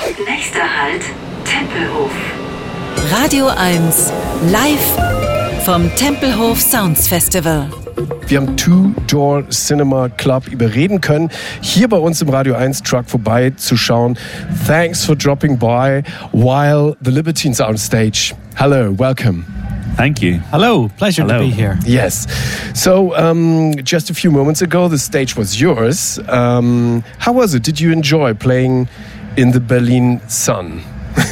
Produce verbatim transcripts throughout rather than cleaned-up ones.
Nächster Halt, Tempelhof. Radio eins, live vom Tempelhof Sounds Festival. Wir haben Two Door Cinema Club überreden können, hier bei uns im Radio eins Truck vorbeizuschauen. Thanks for dropping by while the Libertines are on stage. Hello, welcome. Thank you. Hello, pleasure Hello. to be here. Yes. So, um, just a few moments ago, the stage was yours. Um, how was it? Did you enjoy playing in the Berlin sun?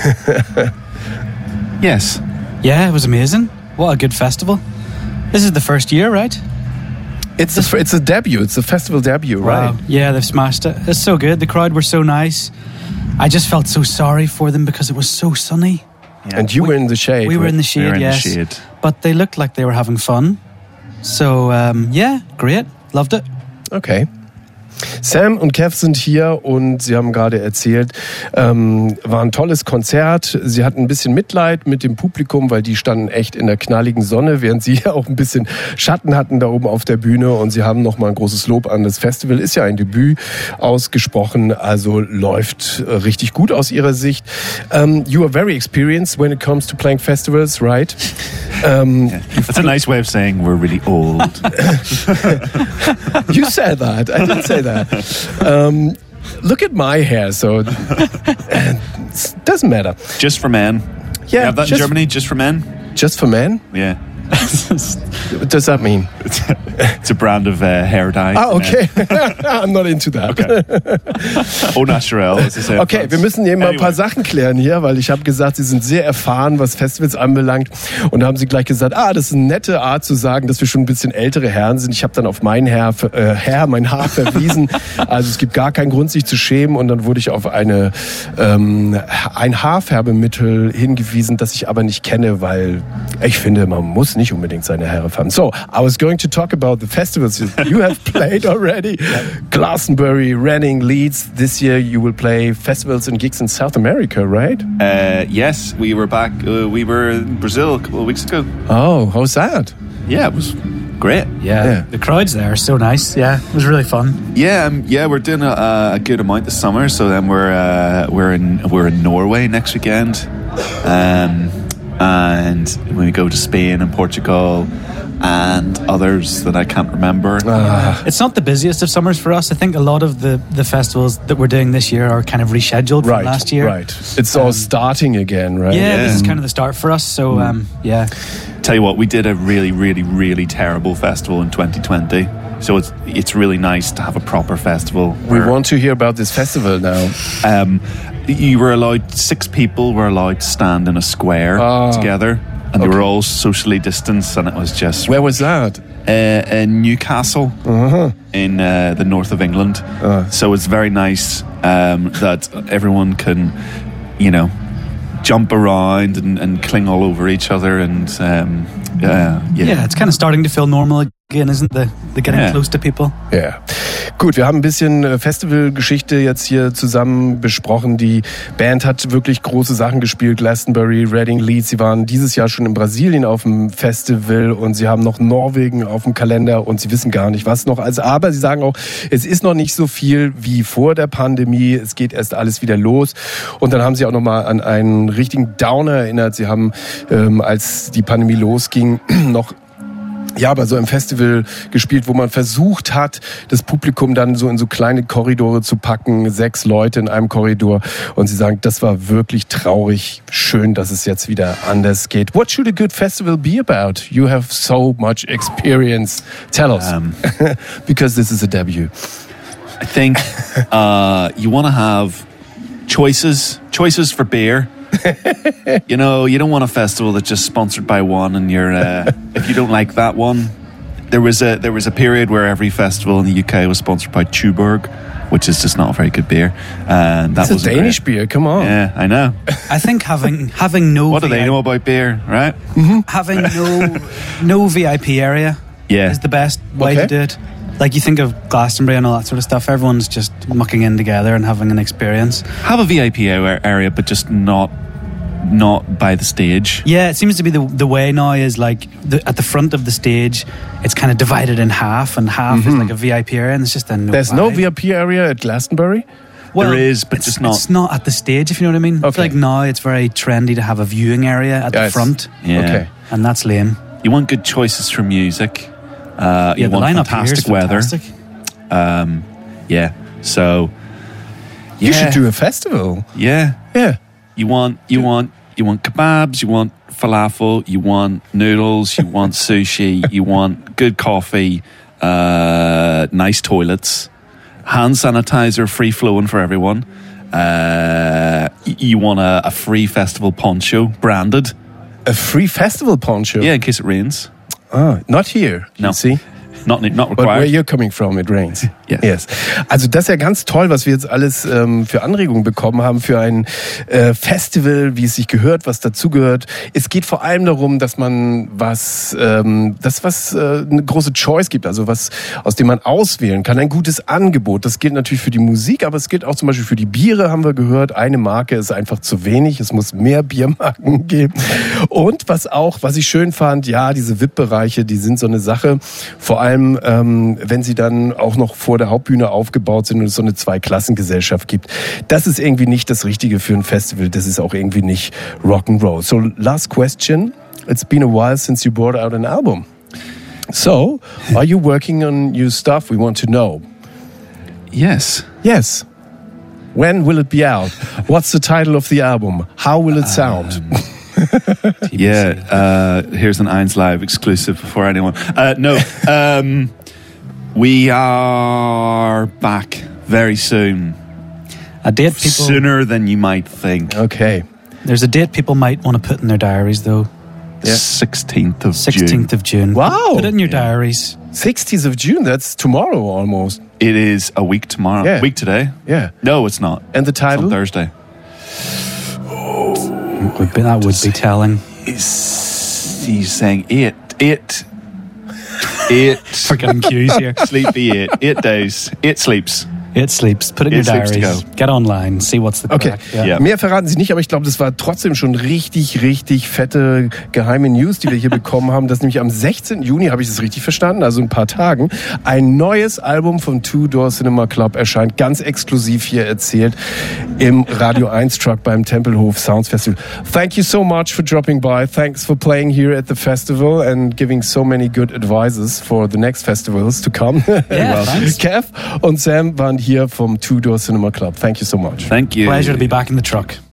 Yes. Yeah, it was amazing. What a good festival. This is the first year, right? It's a, it's a debut. It's a festival debut, right? Wow. Yeah, they've smashed it. It's so good. The crowd were so nice. I just felt so sorry for them because it was so sunny. Yeah. And you we, were in the shade. We were right? in the shade, We were in yes. the shade. But they looked like they were having fun. So, um, yeah, great. Loved it. Okay. Sam und Kev sind hier und sie haben gerade erzählt, ähm, war ein tolles Konzert. Sie hatten ein bisschen Mitleid mit dem Publikum, weil die standen echt in der knalligen Sonne, während sie auch ein bisschen Schatten hatten da oben auf der Bühne. Und sie haben nochmal ein großes Lob an das Festival. Ist ja ein Debüt ausgesprochen, also läuft äh, richtig gut aus ihrer Sicht. Um, you are very experienced when it comes to playing festivals, right? Um, Yeah. That's a nice way of saying we're really old. You said that. I didn't say that. Um, look at my hair. So it doesn't matter. Just for men. Yeah, You have that just- in Germany? Just for men? Just for men? Yeah. What does that mean? It's a brand of uh, hair dye. Ah, okay. I'm not into that. Au naturel, as they say. in Okay, France. wir müssen hier mal ein paar Anyway. Sachen klären hier, weil ich habe gesagt, Sie sind sehr erfahren, was Festivals anbelangt. Und da haben Sie gleich gesagt, ah, das ist eine nette Art zu sagen, dass wir schon ein bisschen ältere Herren sind. Ich habe dann auf mein Herr, äh, Herr, mein Haar verwiesen. Also es gibt gar keinen Grund, sich zu schämen. Und dann wurde ich auf eine ähm, ein Haarfärbemittel hingewiesen, das ich aber nicht kenne, weil ich finde, man muss nicht unbedingt seine Haare färben. So, I was going to talk about the festivals you have played already. Glastonbury, Reading, Leeds. This year you will play festivals and gigs in South America, right? Uh, yes, we were back. Uh, we were in Brazil a couple of weeks ago. Oh, how's that? Yeah, it was great. Yeah, Yeah. the crowds there are so nice. Yeah, it was really fun. Yeah, um, yeah, we're doing a, a good amount this summer. So then we're uh, we're in we're in Norway next weekend, um, and we go to Spain and Portugal and others that I can't remember. Ah, It's not the busiest of summers for us. I think a lot of the, the festivals that we're doing this year are kind of rescheduled from right, last year. right. It's all Um, starting again, right? Yeah, Yeah. this is kind of the start for us. So, um, yeah. Tell you what, we did a really, really, really terrible festival in twenty twenty. So it's it's really nice to have a proper festival. We where, want to hear about this festival now. Um, you were allowed six people were allowed to stand in a square Ah. together, and they Okay. were all socially distanced, and it was just Where was that? uh, in Newcastle Uh-huh. in uh, the north of England. Uh. So it's very nice um, that everyone can, you know, jump around and, and cling all over each other, and um, uh, yeah. Yeah, it's kind of starting to feel normal again, isn't the, the getting Yeah. close to people? Ja. Gut, wir haben ein bisschen äh, Festivalgeschichte jetzt hier zusammen besprochen. Die Band hat wirklich große Sachen gespielt. Glastonbury, Reading, Leeds. Sie waren dieses Jahr schon in Brasilien auf dem Festival und sie haben noch Norwegen auf dem Kalender und sie wissen gar nicht, was noch. Also, aber sie sagen auch, es ist noch nicht so viel wie vor der Pandemie. Es geht erst alles wieder los. Und dann haben sie auch nochmal an einen richtigen Downer erinnert. Sie haben, ähm, als die Pandemie losging, noch ja, bei so einem Festival gespielt, wo man versucht hat, das Publikum dann so in so kleine Korridore zu packen, sechs Leute in einem Korridor. Und sie sagen, das war wirklich traurig. Schön, dass es jetzt wieder anders geht. What should a good festival be about? You have so much experience. Tell us. Um, Because this is a debut. I think uh, you want to have choices, choices for beer. You know, you don't want a festival that's just sponsored by one, and you're uh, if you don't like that one. There was a there was a period where every festival in the U K was sponsored by Tuborg, which is just not a very good beer. And that It's a was Danish beer, come on. Yeah, I know. I think having having no What do they V I- know about beer, right? having no no V I P area Yeah. is the best way Okay. to do it. Like you think of Glastonbury and all that sort of stuff, everyone's just mucking in together and having an experience. Have a V I P a- area, but just not not by the stage. Yeah, it seems to be the the way now is like the, at the front of the stage, it's kind of divided in half, and half is like a V I P area, and it's just a no. There's no vibe. V I P area at Glastonbury? there is, but it's, just not. It's not at the stage, if you know what I mean. I Okay. feel like now it's very trendy to have a viewing area at Yes. the front, Yeah. Okay. and that's lame. You want good choices for music. Uh, Yeah, you the want lineup here is fantastic weather. fantastic. Um, yeah. So. You yeah, should do a festival. Yeah. Yeah. You want. You want. You want kebabs. You want falafel. You want noodles. You want sushi. You want good coffee. Uh, nice toilets. Hand sanitizer, free flowing for everyone. Uh, y- you want a, a free festival poncho, branded. A free festival poncho. Yeah, in case it rains. Ah, not here. No. You see? Not not But where required. you're coming from, it rains. Yes. Yes. Also das ist ja ganz toll, was wir jetzt alles ähm, für Anregungen bekommen haben für ein äh, Festival, wie es sich gehört, was dazugehört. Es geht vor allem darum, dass man was, ähm, das was äh, eine große Choice gibt, also was, aus dem man auswählen kann, ein gutes Angebot. Das gilt natürlich für die Musik, aber es gilt auch zum Beispiel für die Biere, haben wir gehört. Eine Marke ist einfach zu wenig, es muss mehr Biermarken geben. Und was auch, was ich schön fand, ja, diese V I P-Bereiche, die sind so eine Sache, vor allem ähm, wenn sie dann auch noch vor der Hauptbühne aufgebaut sind und es so eine Zweiklassengesellschaft gibt. Das ist irgendwie nicht das Richtige für ein Festival. Das ist auch irgendwie nicht Rock'n'Roll. So, last question. It's been a while since you brought out an album. So, are you working on new stuff? We want to know. Yes. Yes. When will it be out? What's the title of the album? How will it sound? Yeah, uh, here's an Eins Live exclusive for anyone. Uh, no, um, we are back very soon. A date people. Sooner than you might think. Okay. There's a date people might want to put in their diaries, though. The sixteenth of June. sixteenth of June. Wow. Put it in your diaries. sixteenth of June, that's tomorrow almost. It is a week tomorrow. Yeah. Week today? Yeah. No, it's not. And the It's title? on Thursday. Would be, that would be telling. He's, he's saying eight. Eight. Eight. Forgetting cues here. Sleepy eight. Eight days. Eight sleeps. It sleeps. Put it in It your sleeps to diaries. go. Get online. See what's the Okay, crack. Ja. mehr verraten Sie nicht, aber ich glaube, das war trotzdem schon richtig, richtig fette geheime News, die wir hier bekommen haben. Dass nämlich am sechzehnten Juni, habe ich das richtig verstanden, also in ein paar Tagen, ein neues Album von Two Door Cinema Club erscheint, ganz exklusiv hier erzählt im Radio eins Truck beim Tempelhof Sounds Festival. Thank you so much for dropping by. Thanks for playing here at the festival and giving so many good advices for the next festivals to come. Yeah, thanks. Kev und Sam waren hier vom Two Door Cinema Club. Thank you so much. Thank you. Pleasure to be back in the truck.